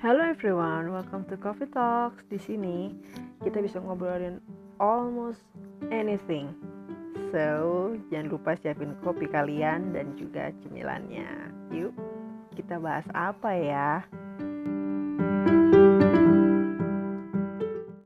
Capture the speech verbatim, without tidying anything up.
Hello everyone, welcome to Coffee Talks. Di sini kita bisa ngobrolin almost anything. So, jangan lupa siapin kopi kalian dan juga cemilannya. Yuk, kita bahas apa ya?